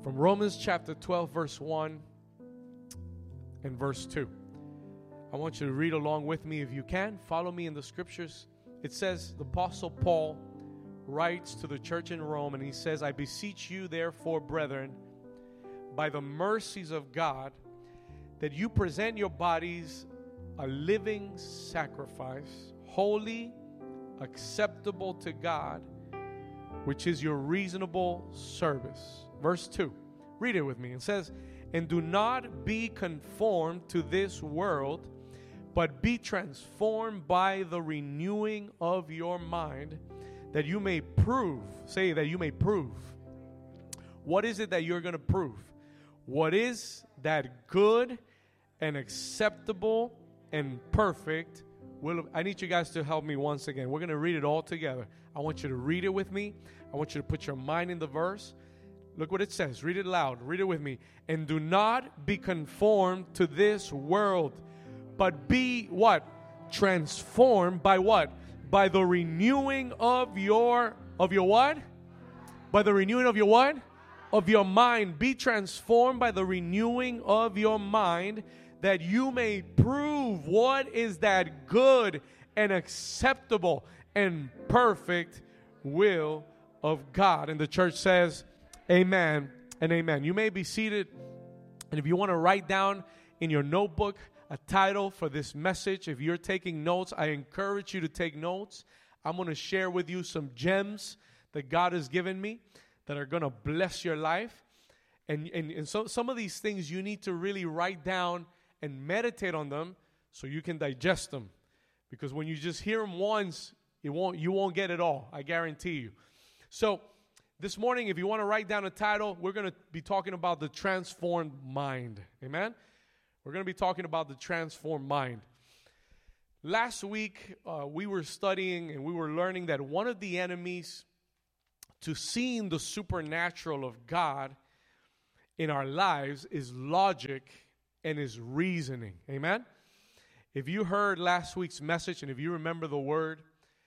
from Romans chapter 12, verse 1 and verse 2. I want you to read along with me if you can. Follow me in the scriptures. It says, the Apostle Paul writes to the church in Rome, and he says, I beseech you, therefore, brethren, by the mercies of God, that you present your bodies a living sacrifice, holy, acceptable to God, which is your reasonable service. Verse 2. Read it with me. It says, and do not be conformed to this world, but be transformed by the renewing of your mind, that you may prove. Say that you may prove. What is it that you're going to prove? What is that good and acceptable and perfect will of, I need you guys to help me once again. We're going to read it all together. I want you to read it with me. I want you to put your mind in the verse. Look what it says. Read it loud. Read it with me. And do not be conformed to this world, but be what? Transformed by what? By the renewing of your what? By the renewing of your what? Of your mind. Be transformed by the renewing of your mind, that you may prove what is that good and acceptable and perfect will of God. And the church says, amen and amen. You may be seated. And if you want to write down in your notebook a title for this message, if you're taking notes, I encourage you to take notes. I'm going to share with you some gems that God has given me that are going to bless your life. And so some of these things you need to really write down and meditate on them so you can digest them. Because when you just hear them once, you won't get it all. I guarantee you. So this morning, if you want to write down a title, we're going to be talking about the transformed mind. Amen? We're going to be talking about the transformed mind. Last week, we were studying and we were learning that one of the enemies to seeing the supernatural of God in our lives is logic and is reasoning. Amen? If you heard last week's message and if you remember the word,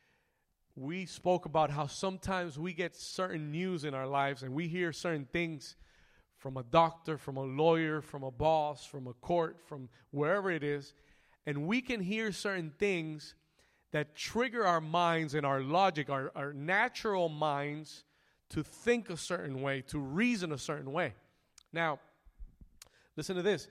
we spoke about how sometimes we get certain news in our lives and we hear certain things from a doctor, from a lawyer, from a boss, from a court, from wherever it is, and we can hear certain things that trigger our minds and our logic, our natural minds to think a certain way, to reason a certain way. Now, listen to this.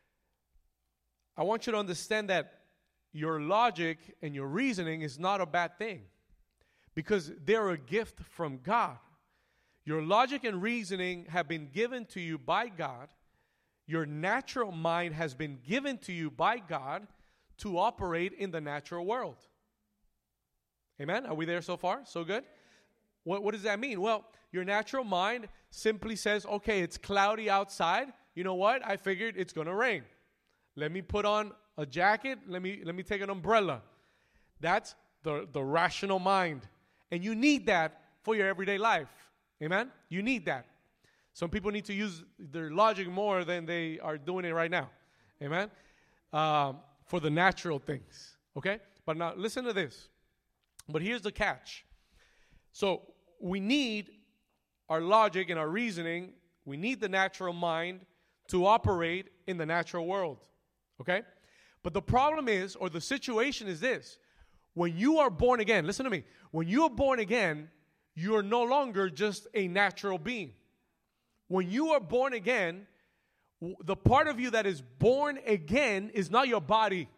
I want you to understand that your logic and your reasoning is not a bad thing, because they're a gift from God. Your logic and reasoning have been given to you by God. Your natural mind has been given to you by God to operate in the natural world. Amen? Are we there so far? So good? What does that mean? Well, your natural mind simply says, okay, it's cloudy outside. You know what? I figured it's going to rain. Let me put on a jacket. Let me take an umbrella. That's the rational mind. And you need that for your everyday life. Amen? You need that. Some people need to use their logic more than they are doing it right now. Amen? For the natural things. Okay? But now listen to this. But here's the catch. So we need our logic and our reasoning. We need the natural mind to operate in the natural world. Okay? But the problem is, or the situation is this. When you are born again, listen to me. When you are born again, you are no longer just a natural being. When you are born again, the part of you that is born again is not your body.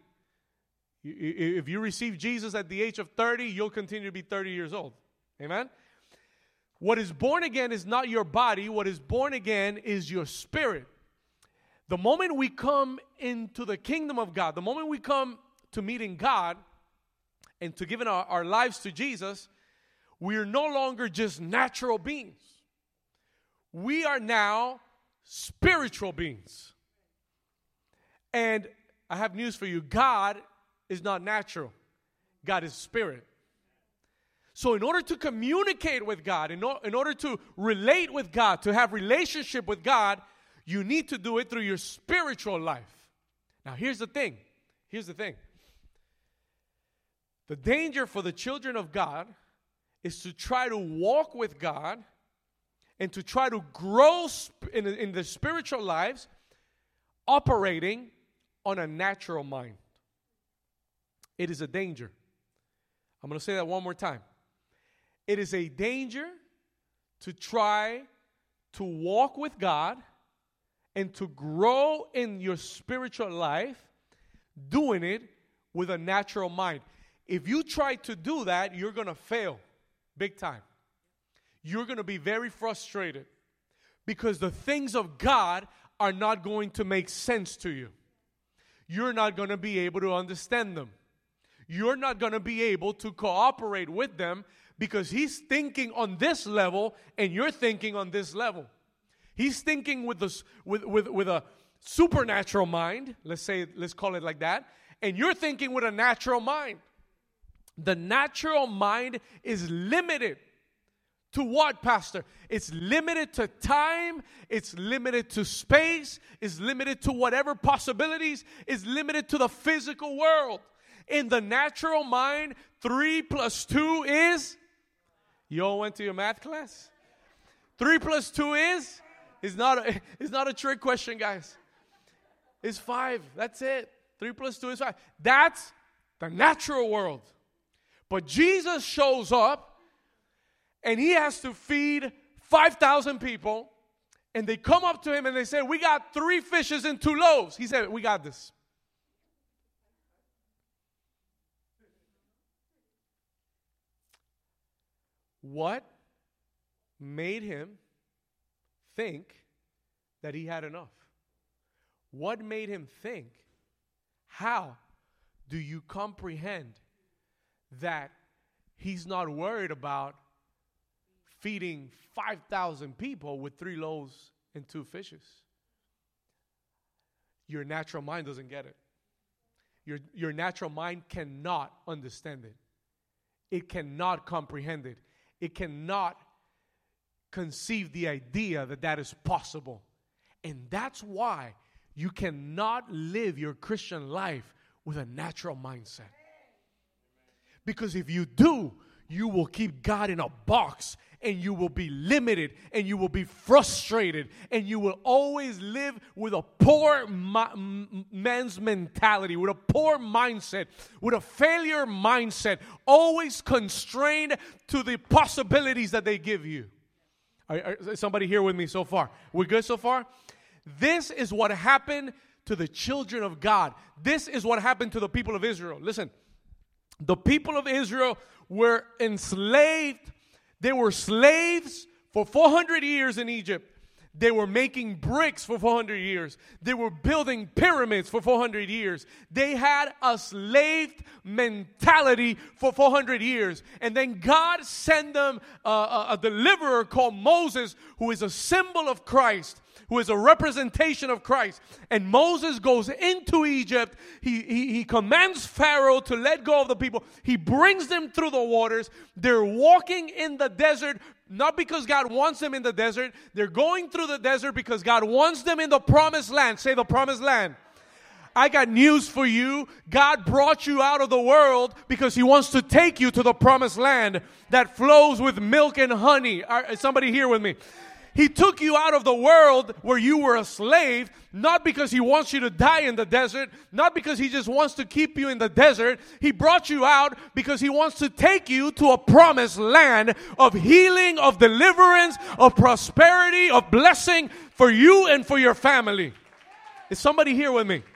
If you receive Jesus at the age of 30, you'll continue to be 30 years old. Amen? What is born again is not your body. What is born again is your spirit. The moment we come into the kingdom of God, the moment we come to meeting God and to giving our lives to Jesus, we are no longer just natural beings. We are now spiritual beings. And I have news for you. God is not natural. God is spirit. So in order to communicate with God, in order to relate with God, to have relationship with God, you need to do it through your spiritual life. Now here's the thing. Here's the thing. The danger for the children of God is to try to walk with God and to try to grow in their spiritual lives operating on a natural mind. It is a danger. I'm going to say that one more time. It is a danger to try to walk with God and to grow in your spiritual life doing it with a natural mind. If you try to do that, you're going to fail big time. You're going to be very frustrated because the things of God are not going to make sense to you. You're not going to be able to understand them. You're not going to be able to cooperate with them because he's thinking on this level and you're thinking on this level. He's thinking with a supernatural mind, let's call it like that, and you're thinking with a natural mind. The natural mind is limited to what, Pastor? It's limited to time, it's limited to space, it's limited to whatever possibilities, it's limited to the physical world. In the natural mind, 3 plus 2 is? You all went to your math class? 3 plus 2 is? It's not a trick question, guys. It's 5. That's it. 3 plus 2 is 5. That's the natural world. But Jesus shows up and he has to feed 5,000 people. And they come up to him and they say, we got 3 fishes and 2 loaves. He said, we got this. What made him think that he had enough? What made him think? How do you comprehend that he's not worried about feeding 5,000 people with 3 loaves and 2 fishes? Your natural mind doesn't get it. Your natural mind cannot understand it. It cannot comprehend it. It cannot conceive the idea that that is possible. And that's why you cannot live your Christian life with a natural mindset. Because if you do, you will keep God in a box and you will be limited and you will be frustrated and you will always live with a poor man's mentality, with a poor mindset, with a failure mindset, always constrained to the possibilities that they give you. Is somebody here with me so far? We're good so far? This is what happened to the children of God. This is what happened to the people of Israel. Listen, the people of Israel were enslaved. They were slaves for 400 years in Egypt. They were making bricks for 400 years. They were building pyramids for 400 years. They had a slave mentality for 400 years. And then God sent them a deliverer called Moses, who is a symbol of Christ, who is a representation of Christ. And Moses goes into Egypt. He commands Pharaoh to let go of the people. He brings them through the waters. They're walking in the desert, not because God wants them in the desert. They're going through the desert because God wants them in the promised land. Say the promised land. I got news for you. God brought you out of the world because he wants to take you to the promised land that flows with milk and honey. Is somebody here with me? He took you out of the world where you were a slave, not because he wants you to die in the desert, not because he just wants to keep you in the desert. He brought you out because he wants to take you to a promised land of healing, of deliverance, of prosperity, of blessing for you and for your family. Is somebody here with me?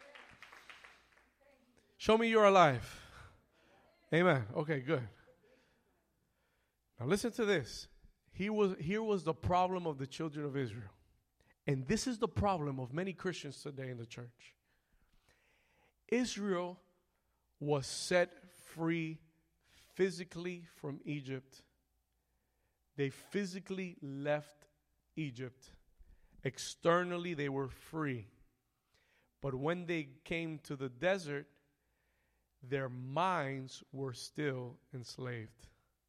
Show me you're alive. Amen. Okay, good. Now listen to this. Here was the problem of the children of Israel. And this is the problem of many Christians today in the church. Israel was set free physically from Egypt. They physically left Egypt. Externally, they were free. But when they came to the desert, their minds were still enslaved.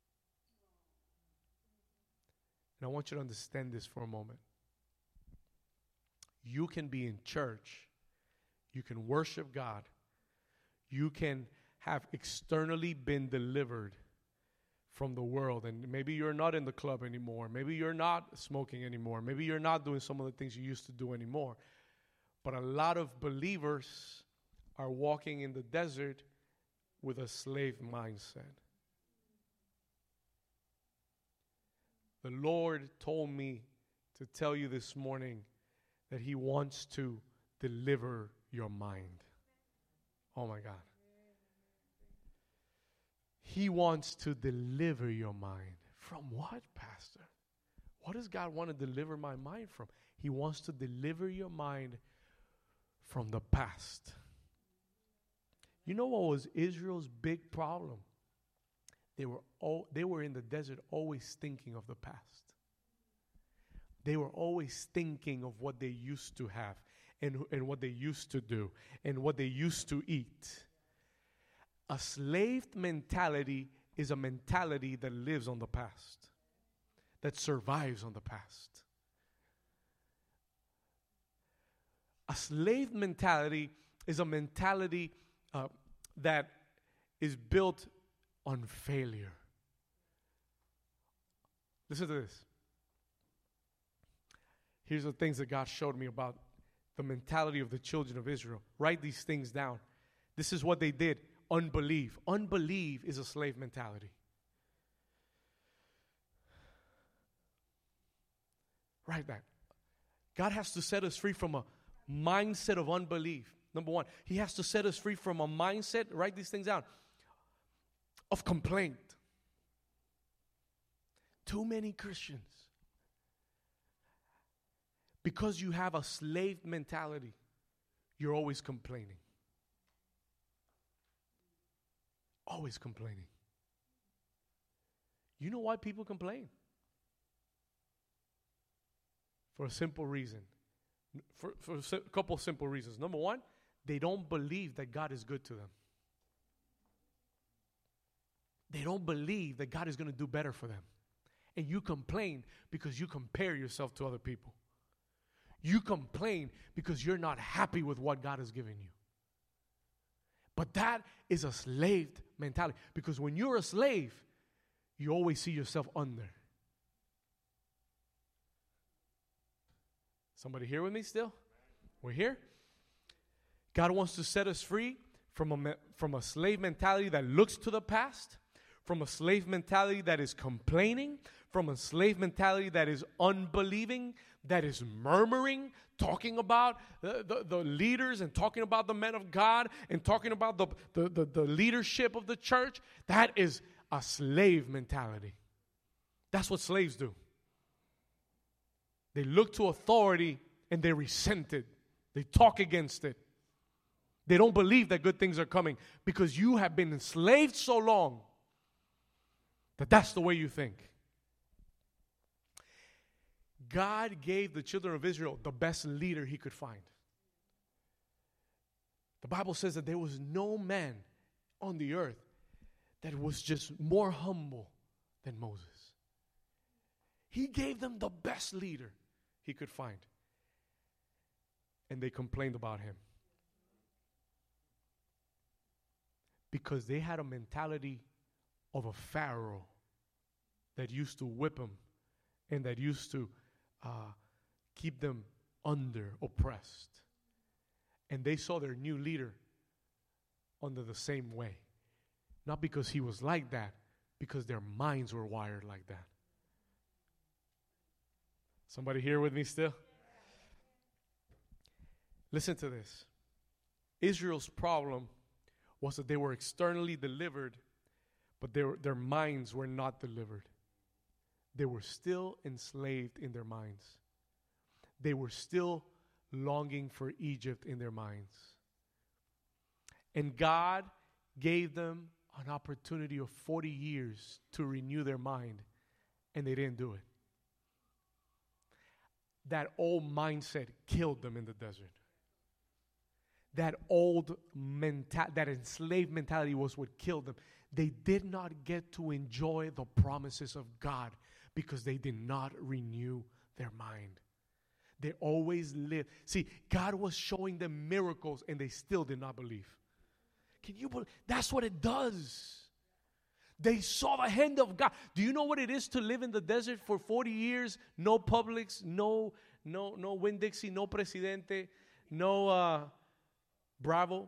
And I want you to understand this for a moment. You can be in church. You can worship God. You can have externally been delivered from the world, and maybe you're not in the club anymore. Maybe you're not smoking anymore. Maybe you're not doing some of the things you used to do anymore. But a lot of believers are walking in the desert with a slave mindset. The Lord told me to tell you this morning that He wants to deliver your mind. Oh my God. He wants to deliver your mind. From what, Pastor? What does God want to deliver my mind from? He wants to deliver your mind from the past. You know what was Israel's big problem? They were in the desert always thinking of the past. They were always thinking of what they used to have and what they used to do and what they used to eat. A slave mentality is a mentality that lives on the past, that survives on the past. A slave mentality is a mentality that is built on failure. Listen to this. Here's the things that God showed me about the mentality of the children of Israel. Write these things down. This is what they did. Unbelief. Unbelief is a slave mentality. Write that. God has to set us free from a mindset of unbelief. Number one, He has to set us free from a mindset, write these things down, of complaint. Too many Christians, because you have a slave mentality, you're always complaining. Always complaining. You know why people complain? For a simple reason. For a couple of simple reasons. Number one, they don't believe that God is good to them. They don't believe that God is going to do better for them. And you complain because you compare yourself to other people. You complain because you're not happy with what God has given you. But that is a slave mentality. Because when you're a slave, you always see yourself under. Somebody here with me still? We're here? God wants to set us free from a slave mentality that looks to the past, from a slave mentality that is complaining, from a slave mentality that is unbelieving, that is murmuring, talking about the leaders and talking about the men of God and talking about the leadership of the church. That is a slave mentality. That's what slaves do. They look to authority and they resent it. They talk against it. They don't believe that good things are coming because you have been enslaved so long that that's the way you think. God gave the children of Israel the best leader He could find. The Bible says that there was no man on the earth that was just more humble than Moses. He gave them the best leader He could find. And they complained about him. Because they had a mentality of a Pharaoh that used to whip them and that used to keep them oppressed. And they saw their new leader under the same way. Not because he was like that, because their minds were wired like that. Somebody here with me still? Listen to this. Israel's problem was that they were externally delivered, but their minds were not delivered. They were still enslaved in their minds. They were still longing for Egypt in their minds. And God gave them an opportunity of 40 years to renew their mind, and they didn't do it. That old mindset killed them in the desert. That that enslaved mentality was what killed them. They did not get to enjoy the promises of God because they did not renew their mind. They always lived. See, God was showing them miracles and they still did not believe. Can you believe? That's what it does. They saw the hand of God. Do you know what it is to live in the desert for 40 years? No Publix, no Winn-Dixie, no Presidente, no Bravo,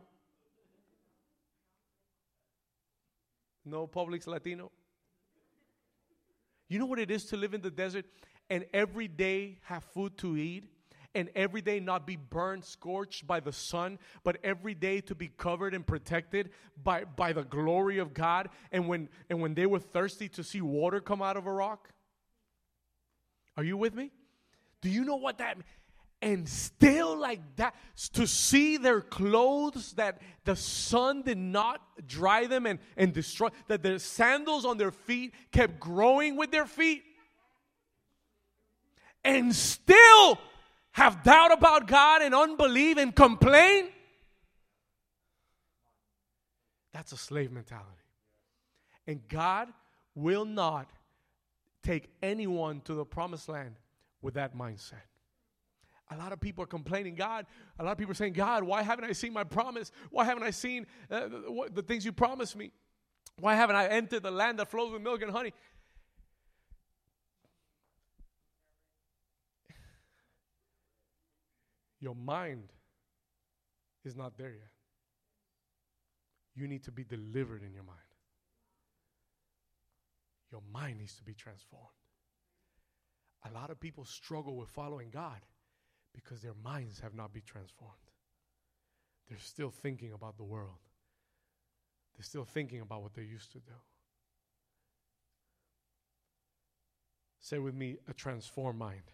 no Publix Latino. You know what it is to live in the desert and every day have food to eat? And every day not be burned, scorched by the sun, but every day to be covered and protected by the glory of God. And when they were thirsty, to see water come out of a rock. Are you with me? Do you know what that means? And still like that, to see their clothes, that the sun did not dry them and destroy, that their sandals on their feet kept growing with their feet. And still have doubt about God and unbelief and complain. That's a slave mentality. And God will not take anyone to the promised land with that mindset. A lot of people are complaining, God, a lot of people are saying, God, why haven't I seen my promise? Why haven't I seen the things you promised me? Why haven't I entered the land that flows with milk and honey? Your mind is not there yet. You need to be delivered in your mind. Your mind needs to be transformed. A lot of people struggle with following God because their minds have not been transformed. They're still thinking about the world. They're still thinking about what they used to do. Say with me, a transformed mind.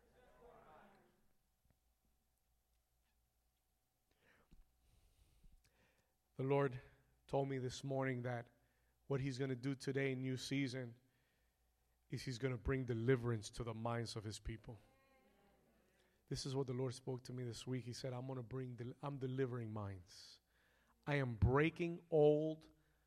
The Lord told me this morning that what He's going to do today in new season is He's going to bring deliverance to the minds of His people. This is what the Lord spoke to me this week. He said, I'm delivering minds. I am breaking old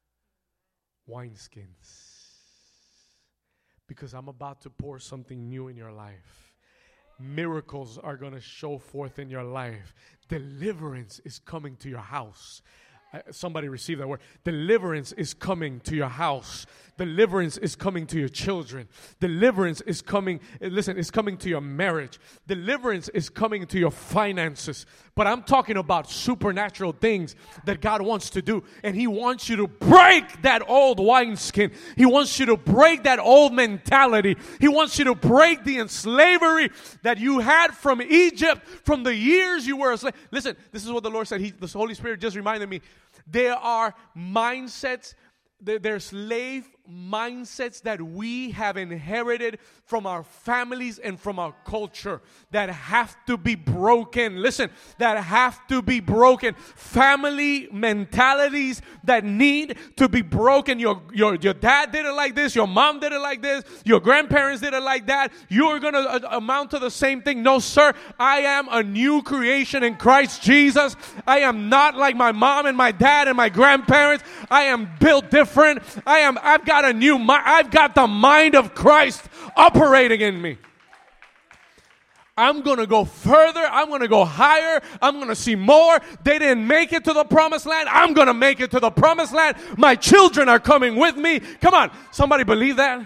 wineskins because I'm about to pour something new in your life. Miracles are going to show forth in your life. Deliverance is coming to your house. Somebody receive that word. Deliverance is coming to your house. Deliverance is coming to your children. Deliverance is coming, listen, it's coming to your marriage. Deliverance is coming to your finances. But I'm talking about supernatural things that God wants to do. And He wants you to break that old wineskin. He wants you to break that old mentality. He wants you to break the slavery that you had from Egypt, from the years you were a slave. Listen, this is what the Lord said. The Holy Spirit just reminded me. There are mindsets, there's slave mindsets that we have inherited from our families and from our culture that have to be broken. Listen, that have to be broken. Family mentalities that need to be broken. Your dad did it like this. Your mom did it like this. Your grandparents did it like that. You're going to amount to the same thing. No, sir. I am a new creation in Christ Jesus. I am not like my mom and my dad and my grandparents. I am built different. I've got a new mind. I've got the mind of Christ operating in me. I'm going to go further. I'm going to go higher. I'm going to see more. They didn't make it to the promised land. I'm going to make it to the promised land. My children are coming with me. Come on. Somebody believe that?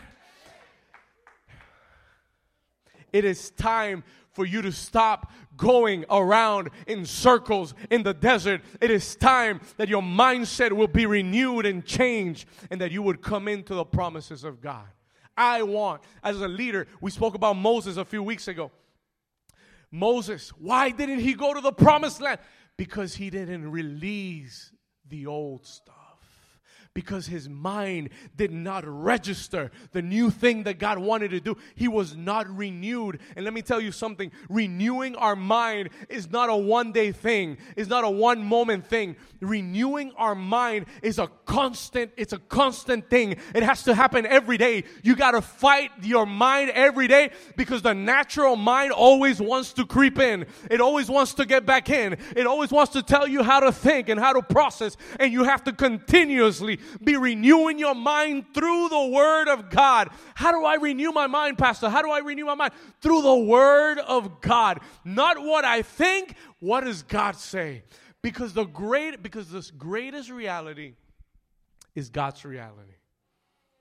It is time for you to stop going around in circles in the desert. It is time that your mindset will be renewed and changed and that you would come into the promises of God. I want, as a leader, we spoke about Moses a few weeks ago. Moses, why didn't he go to the promised land? Because he didn't release the old stuff. Because his mind did not register the new thing that God wanted to do. He was not renewed. And let me tell you something. Renewing our mind is not a one-day thing. It's not a one-moment thing. Renewing our mind is a constant thing. It has to happen every day. You got to fight your mind every day because the natural mind always wants to creep in. It always wants to get back in. It always wants to tell you how to think and how to process. And you have to continuously be renewing your mind through the Word of God. How do I renew my mind, Pastor? How do I renew my mind? Through the Word of God. Not what I think, what does God say? Because this greatest reality is God's reality.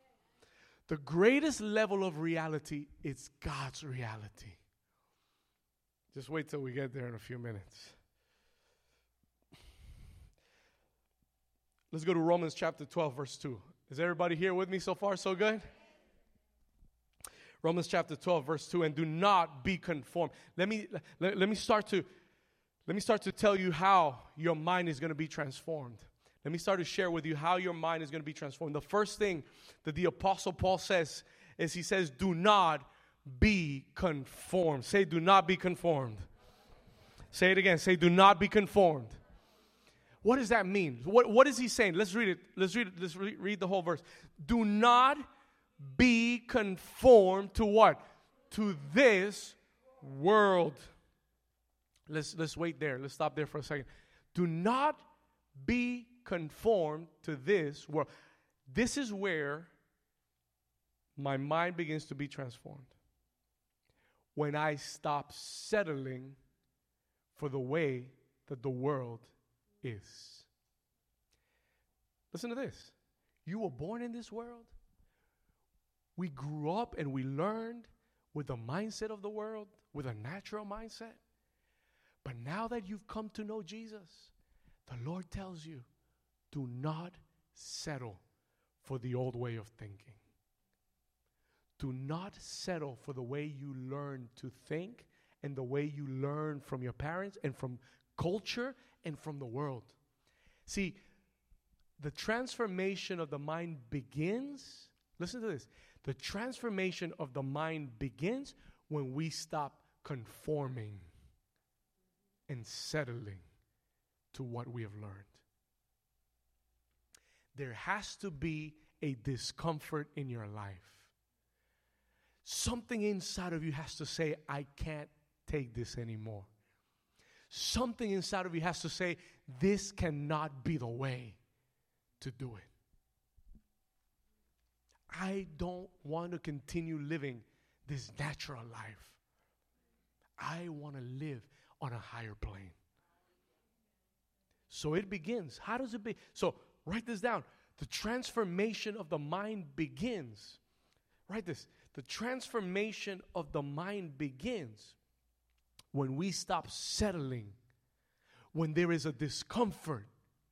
The greatest level of reality is God's reality. Just wait till we get there in a few minutes. Let's go to Romans chapter 12, verse 2. Is everybody here with me so far? So good? Romans chapter 12, verse 2. And do not be conformed. Let me start to tell you how your mind is going to be transformed. Let me start to share with you how your mind is going to be transformed. The first thing that the Apostle Paul says is he says, do not be conformed. Say, do not be conformed. Say it again. Say, do not be conformed. What does that mean? What is he saying? Let's read it. Let's read the whole verse. Do not be conformed to what? To this world. Let's wait there. Let's stop there for a second. Do not be conformed to this world. This is where my mind begins to be transformed. When I stop settling for the way that the world is. Listen to this. You were born in this world. We grew up and we learned with the mindset of the world, with a natural mindset. But now that you've come to know Jesus, the Lord tells you, do not settle for the old way of thinking. Do not settle for the way you learn to think and the way you learn from your parents and from culture and from the world. See, the transformation of the mind begins, listen to this, the transformation of the mind begins when we stop conforming and settling to what we have learned. There has to be a discomfort in your life. Something inside of you has to say, I can't take this anymore. Something inside of you has to say, this cannot be the way to do it. I don't want to continue living this natural life. I want to live on a higher plane. So it begins. How does it begin? So write this down. The transformation of the mind begins. Write this. The transformation of the mind begins when we stop settling, when there is a discomfort,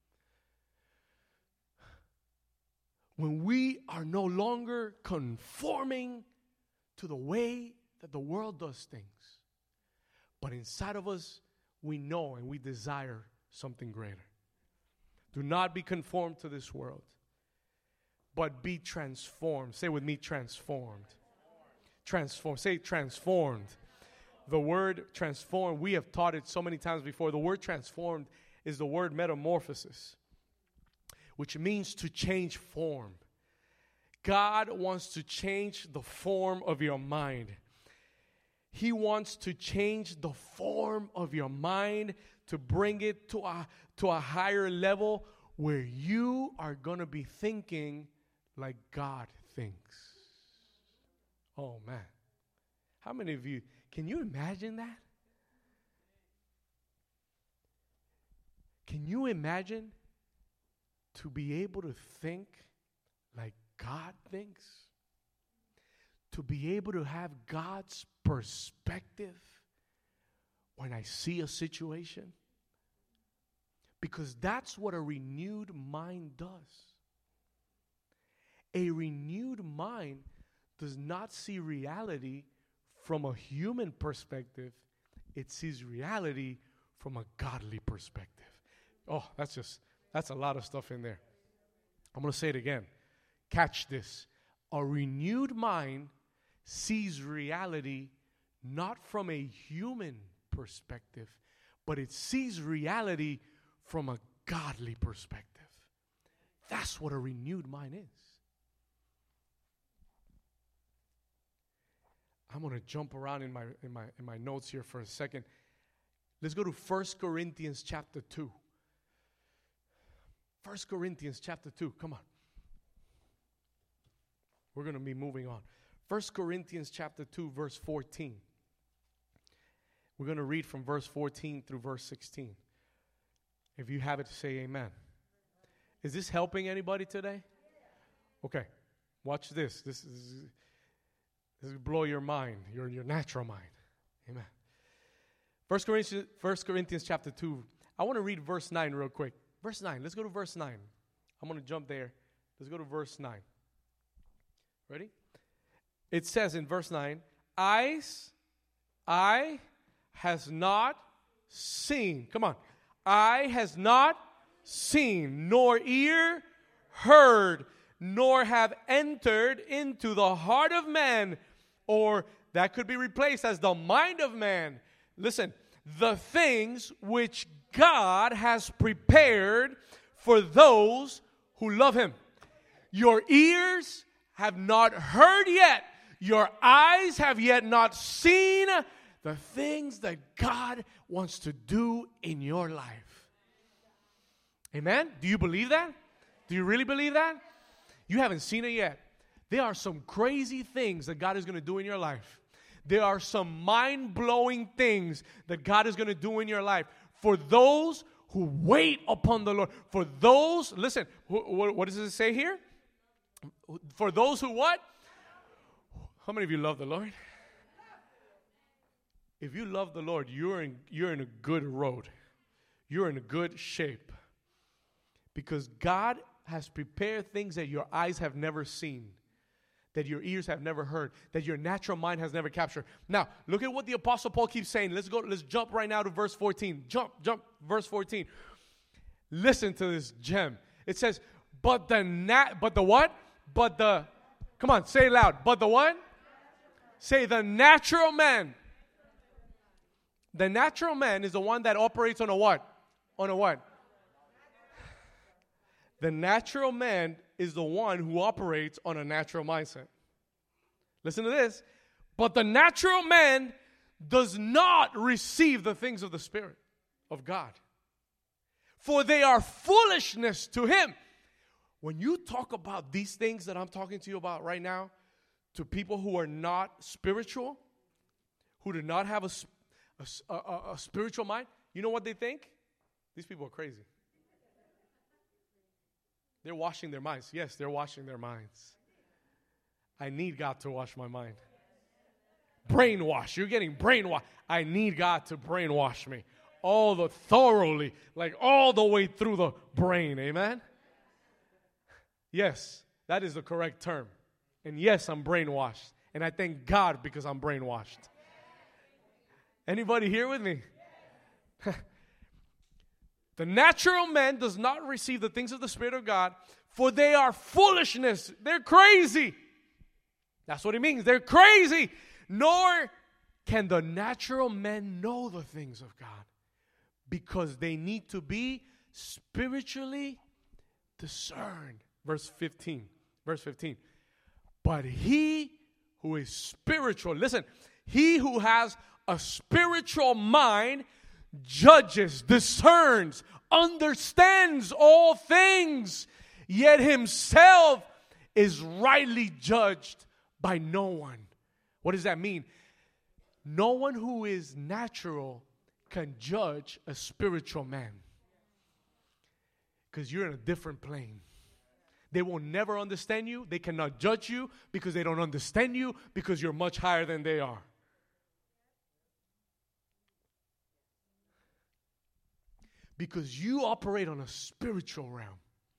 when we are no longer conforming to the way that the world does things. But inside of us, we know and we desire something greater. Do not be conformed to this world, but be transformed. Say with me, transformed. Transformed. Say transformed. The word transformed, we have taught it so many times before. The word transformed is the word metamorphosis, which means to change form. God wants to change the form of your mind. He wants to change the form of your mind to bring it to a higher level where you are going to be thinking like God thinks. Oh, man. How many of you, can you imagine that? Can you imagine to be able to think like God thinks? To be able to have God's perspective when I see a situation? Because that's what a renewed mind does. A renewed mind does not see reality from a human perspective. It sees reality from a godly perspective. Oh, that's a lot of stuff in there. I'm going to say it again. Catch this. A renewed mind sees reality not from a human perspective, but it sees reality from a godly perspective. That's what a renewed mind is. I'm going to jump around in my notes here for a second. Let's go to 1 Corinthians chapter 2. 1 Corinthians chapter 2. Come on. We're going to be moving on. 1 Corinthians chapter 2, verse 14. We're going to read from verse 14 through verse 16. If you have it, say amen. Is this helping anybody today? Okay. Watch this. This will blow your mind, your natural mind. Amen. 1 Corinthians chapter 2. I want to read verse 9 real quick. Verse 9. Let's go to verse 9. I'm going to jump there. Let's go to verse 9. Ready? It says in verse 9, eye has not seen. Come on. Eye has not seen, nor ear heard, nor have entered into the heart of man, or that could be replaced as the mind of man. Listen, the things which God has prepared for those who love him. Your ears have not heard yet. Your eyes have yet not seen the things that God wants to do in your life. Amen? Do you believe that? Do you really believe that? You haven't seen it yet. There are some crazy things that God is going to do in your life. There are some mind-blowing things that God is going to do in your life for those who wait upon the Lord. For those, listen, what does it say here? For those who what? How many of you love the Lord? If you love the Lord, you're in a good road. You're in a good shape. Because God has prepared things that your eyes have never seen, that your ears have never heard, that your natural mind has never captured. Now, look at what the Apostle Paul keeps saying. Let's jump right now to verse 14. Jump, verse 14. Listen to this gem. It says, but the what? Come on, say it loud. But the what? Say the natural man. The natural man is the one that operates on a what? On a what? The natural man is the one who operates on a natural mindset. Listen to this. But the natural man does not receive the things of the Spirit of God, for they are foolishness to him. When you talk about these things that I'm talking to you about right now, to people who are not spiritual, who do not have a spiritual mind, you know what they think? These people are crazy. They're washing their minds. Yes, they're washing their minds. I need God to wash my mind. Brainwash. You're getting brainwashed. I need God to brainwash me. Thoroughly, like all the way through the brain. Amen? Yes, that is the correct term. And yes, I'm brainwashed. And I thank God because I'm brainwashed. Anybody here with me? The natural man does not receive the things of the Spirit of God, for they are foolishness. They're crazy. That's what it means. They're crazy. Nor can the natural man know the things of God, because they need to be spiritually discerned. Verse 15. But he who is spiritual, listen, he who has a spiritual mind judges, discerns, understands all things, yet himself is rightly judged by no one. What does that mean? No one who is natural can judge a spiritual man, because you're in a different plane. They will never understand you. They cannot judge you because they don't understand you, because you're much higher than they are. Because you operate on a spiritual realm.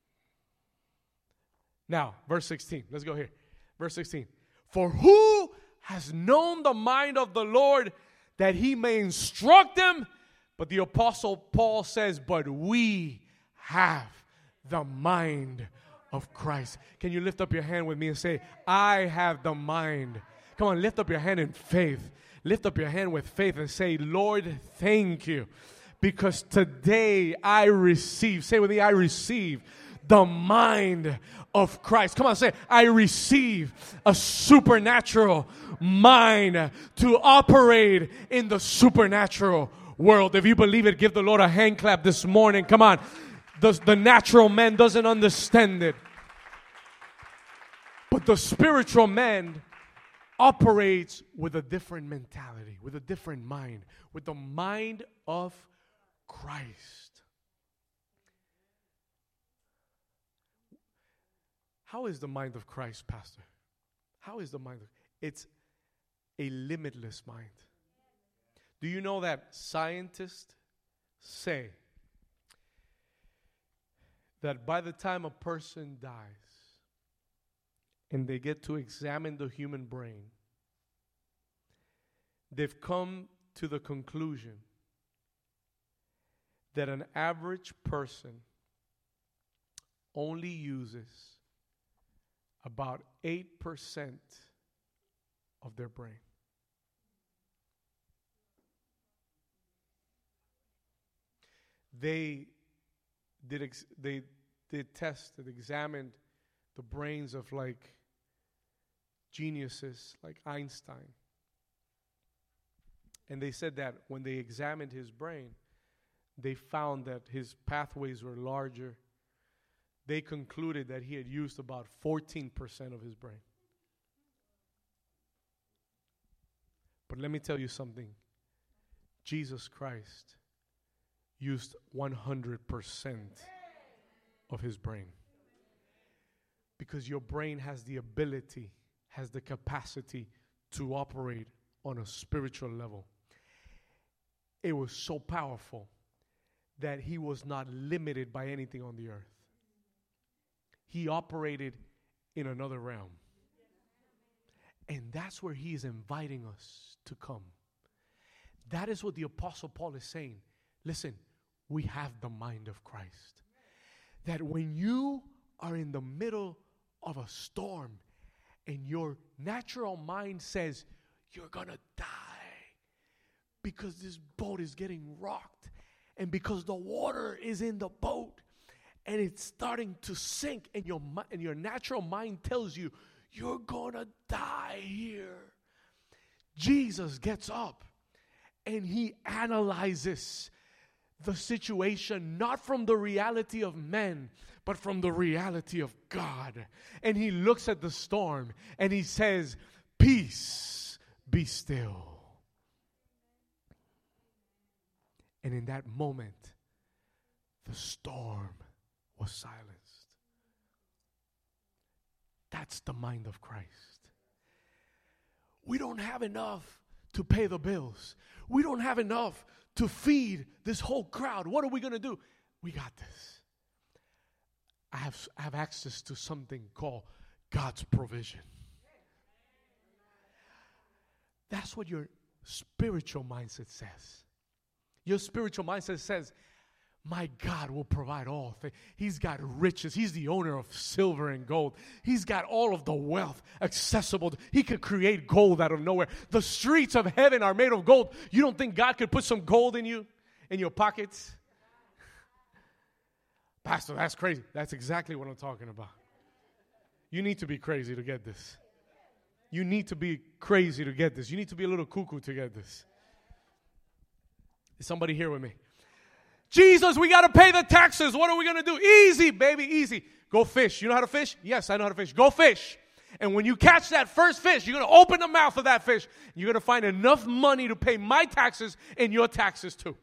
Now, verse 16. Let's go here. Verse 16. For who has known the mind of the Lord that he may instruct him? But the Apostle Paul says, but we have the mind of Christ. Can you lift up your hand with me and say, I have the mind? Come on, lift up your hand in faith. Lift up your hand with faith and say, Lord, thank you. Because today I receive, say with me, I receive the mind of Christ. Come on, say, I receive a supernatural mind to operate in the supernatural world. If you believe it, give the Lord a hand clap this morning. Come on. The natural man doesn't understand it. But the spiritual man operates with a different mentality, with a different mind, with the mind of Christ. How is the mind of Christ, Pastor? How is the mind of It's a limitless mind. Do you know that scientists say that by the time a person dies and they get to examine the human brain, they've come to the conclusion that an average person only uses about 8% of their brain. They did tests that examined the brains of like geniuses like Einstein. And they said that when they examined his brain, they found that his pathways were larger. They concluded that he had used about 14% of his brain. But let me tell you something. Jesus Christ used 100% of his brain. Because your brain has the ability, has the capacity to operate on a spiritual level. It was so powerful that he was not limited by anything on the earth. He operated in another realm. And that's where he is inviting us to come. That is what the Apostle Paul is saying. Listen, we have the mind of Christ. That when you are in the middle of a storm and your natural mind says, you're gonna die because this boat is getting rocked and because the water is in the boat and it's starting to sink, and your natural mind tells you, you're gonna die here. Jesus gets up and he analyzes the situation not from the reality of men, but from the reality of God. And he looks at the storm and he says, peace, be still. And in that moment, the storm was silenced. That's the mind of Christ. We don't have enough to pay the bills. We don't have enough to feed this whole crowd. What are we going to do? We got this. I have access to something called God's provision. That's what your spiritual mindset says. Your spiritual mindset says, my God will provide all things. He's got riches. He's the owner of silver and gold. He's got all of the wealth accessible. He could create gold out of nowhere. The streets of heaven are made of gold. You don't think God could put some gold in you, in your pockets? Pastor, that's crazy. That's exactly what I'm talking about. You need to be crazy to get this. You need to be crazy to get this. You need to be a little cuckoo to get this. Is somebody here with me? Jesus, we got to pay the taxes. What are we going to do? Easy, baby, easy. Go fish. You know how to fish? Yes, I know how to fish. Go fish. And when you catch that first fish, you're going to open the mouth of that fish. You're going to find enough money to pay my taxes and your taxes too.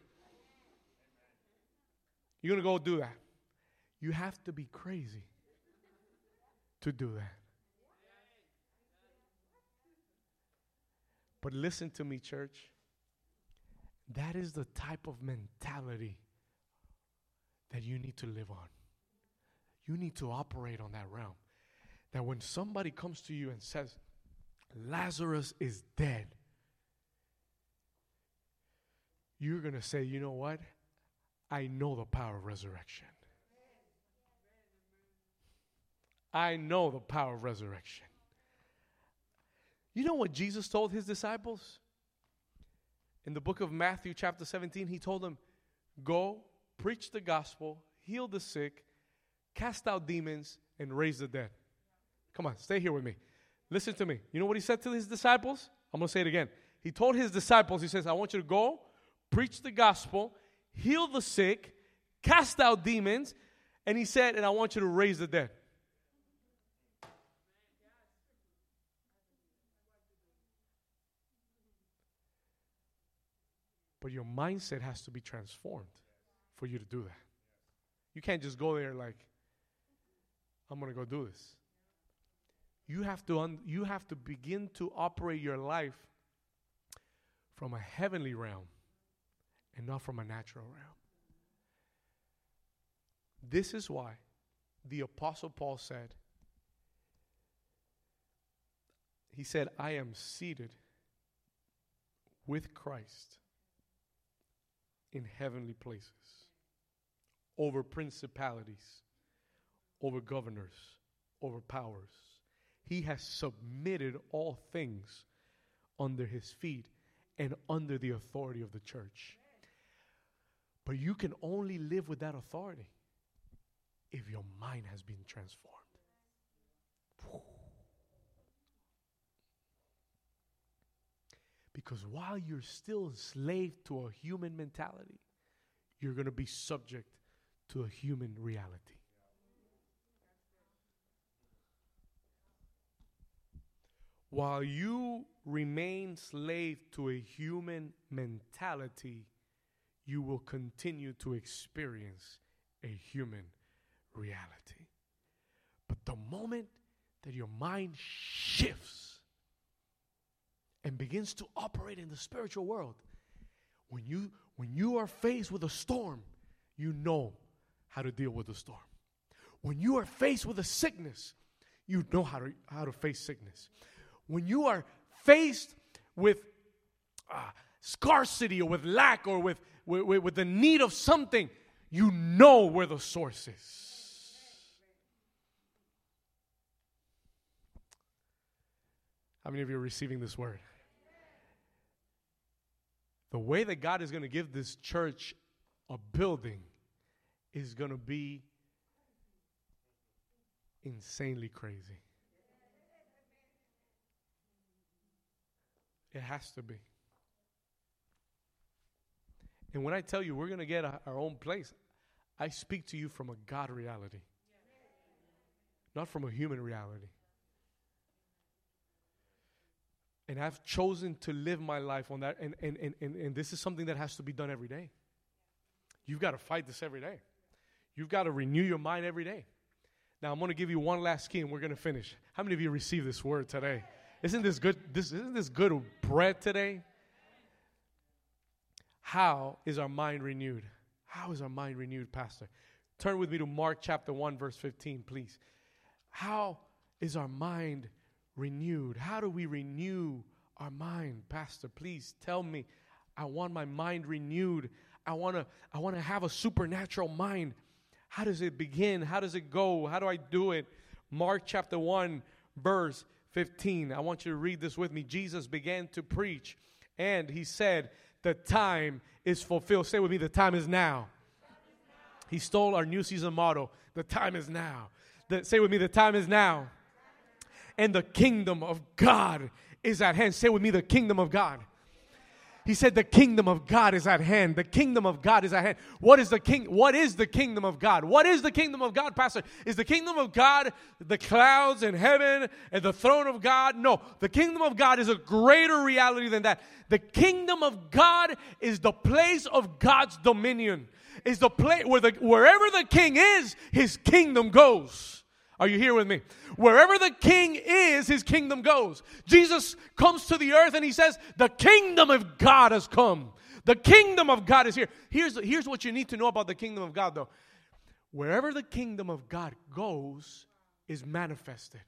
You're going to go do that. You have to be crazy to do that. But listen to me, church. That is the type of mentality that you need to live on. You need to operate on that realm. That when somebody comes to you and says, Lazarus is dead, you're going to say, you know what? I know the power of resurrection. I know the power of resurrection. You know what Jesus told his disciples? In the book of Matthew chapter 17, he told them, go, preach the gospel, heal the sick, cast out demons, and raise the dead. Come on, stay here with me. Listen to me. You know what he said to his disciples? I'm going to say it again. He told his disciples, he says, I want you to go, preach the gospel, heal the sick, cast out demons, and he said, and I want you to raise the dead. But your mindset has to be transformed for you to do that. You can't just go there like, I'm going to go do this. You have to begin to operate your life from a heavenly realm and not from a natural realm. This is why the Apostle Paul said, he said, I am seated with Christ in heavenly places, over principalities, over governors, over powers. He has submitted all things under his feet and under the authority of the church. But you can only live with that authority if your mind has been transformed. Because while you're still enslaved to a human mentality, you're going to be subject to a human reality. While you remain slave to a human mentality, you will continue to experience a human reality. But the moment that your mind shifts and begins to operate in the spiritual world, when you are faced with a storm, you know how to deal with the storm. When you are faced with a sickness, you know how to face sickness. When you are faced with scarcity or with lack or with the need of something, you know where the source is. How many of you are receiving this word? The way that God is going to give this church a building is going to be insanely crazy. It has to be. And when I tell you we're going to get our own place, I speak to you from a God reality, not from a human reality. And I've chosen to live my life on that. And this is something that has to be done every day. You've got to fight this every day. You've got to renew your mind every day. Now, I'm going to give you one last key and we're going to finish. How many of you received this word today? Isn't this good? Isn't this good bread today? How is our mind renewed? How is our mind renewed, Pastor? Turn with me to Mark chapter 1, verse 15, please. How is our mind renewed? How do we renew our mind, Pastor? Please tell me. I want my mind renewed. I want to have a supernatural mind. How does it begin? How does it go? How do I do it? Mark chapter 1, verse 15. I want you to read this with me. Jesus began to preach, and he said, the time is fulfilled. Say with me, the time is now. He stole our new season motto. The time is now. Say with me, the time is now. And the kingdom of God is at hand. Say with me, the kingdom of God. He said the kingdom of God is at hand. The kingdom of God is at hand. What is the kingdom of God? What is the kingdom of God, Pastor? Is the kingdom of God the clouds in heaven and the throne of God? No. The kingdom of God is a greater reality than that. The kingdom of God is the place of God's dominion. Is the place wherever the king is, his kingdom goes. Are you here with me? Wherever the king is, his kingdom goes. Jesus comes to the earth and he says, the kingdom of God has come. The kingdom of God is here. Here's what you need to know about the kingdom of God, though. Wherever the kingdom of God goes, is manifested.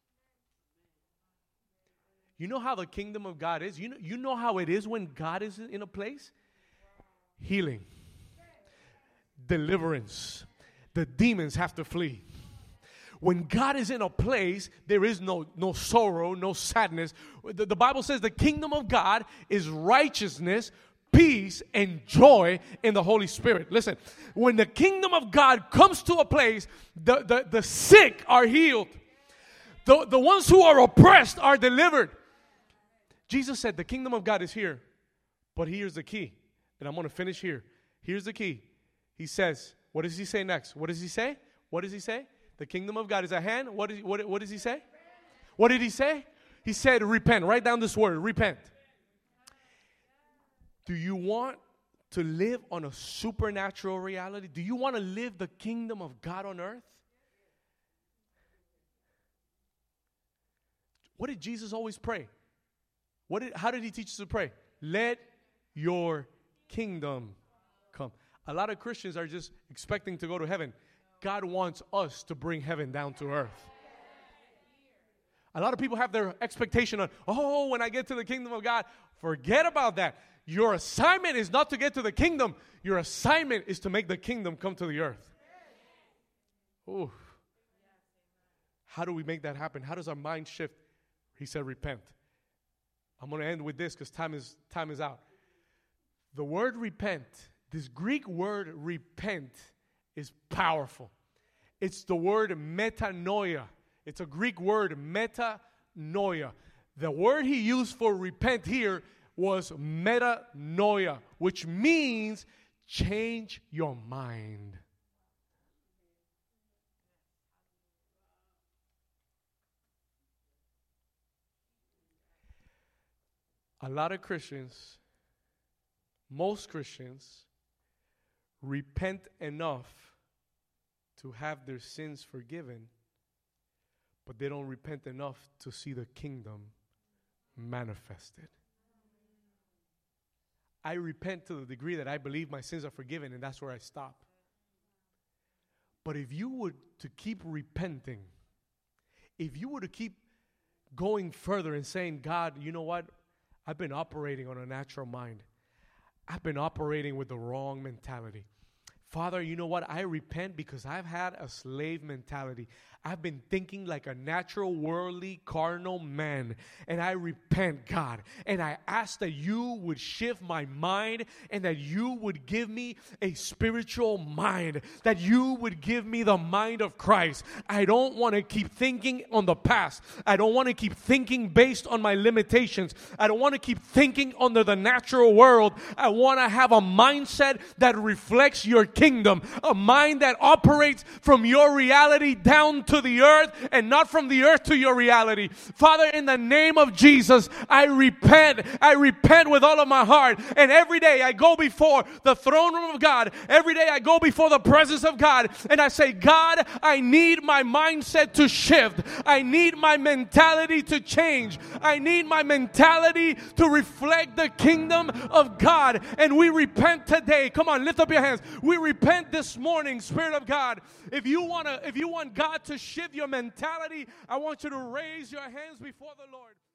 You know how the kingdom of God is? You know how it is when God is in a place? Healing. Deliverance. The demons have to flee. When God is in a place, there is no sorrow, no sadness. The Bible says the kingdom of God is righteousness, peace, and joy in the Holy Spirit. Listen, when the kingdom of God comes to a place, the sick are healed. The ones who are oppressed are delivered. Jesus said the kingdom of God is here, but here's the key. And I'm going to finish here. Here's the key. He says, what does he say next? What does he say? What does he say? The kingdom of God is at hand. What does he say? What did he say? He said, repent. Write down this word, repent. Do you want to live on a supernatural reality? Do you want to live the kingdom of God on earth? What did Jesus always pray? How did he teach us to pray? Let your kingdom come. A lot of Christians are just expecting to go to heaven. God wants us to bring heaven down to earth. A lot of people have their expectation on, oh, when I get to the kingdom of God, forget about that. Your assignment is not to get to the kingdom. Your assignment is to make the kingdom come to the earth. Ooh. How do we make that happen? How does our mind shift? He said, repent. I'm going to end with this because time is out. The word repent, this Greek word repent, is powerful. It's the word metanoia. It's a Greek word, metanoia. The word he used for repent here was metanoia, which means change your mind. A lot of Christians, most Christians, repent enough to have their sins forgiven, but they don't repent enough to see the kingdom manifested. I repent to the degree that I believe my sins are forgiven, and that's where I stop. But if you were to keep repenting, if you were to keep going further and saying, God, you know what? I've been operating on a natural mind. I've been operating with the wrong mentality. Father, you know what? I repent because I've had a slave mentality. I've been thinking like a natural, worldly, carnal man. And I repent, God. And I ask that you would shift my mind and that you would give me a spiritual mind. That you would give me the mind of Christ. I don't want to keep thinking on the past. I don't want to keep thinking based on my limitations. I don't want to keep thinking under the natural world. I want to have a mindset that reflects your kingdom. A mind that operates from your reality down to the earth and not from the earth to your reality. Father, in the name of Jesus, I repent. I repent with all of my heart. And every day I go before the throne room of God. Every day I go before the presence of God. And I say, God, I need my mindset to shift. I need my mentality to change. I need my mentality to reflect the kingdom of God. And we repent today. Come on, lift up your hands. We repent this morning, Spirit of God. If you want God to shift your mentality, I want you to raise your hands before the Lord.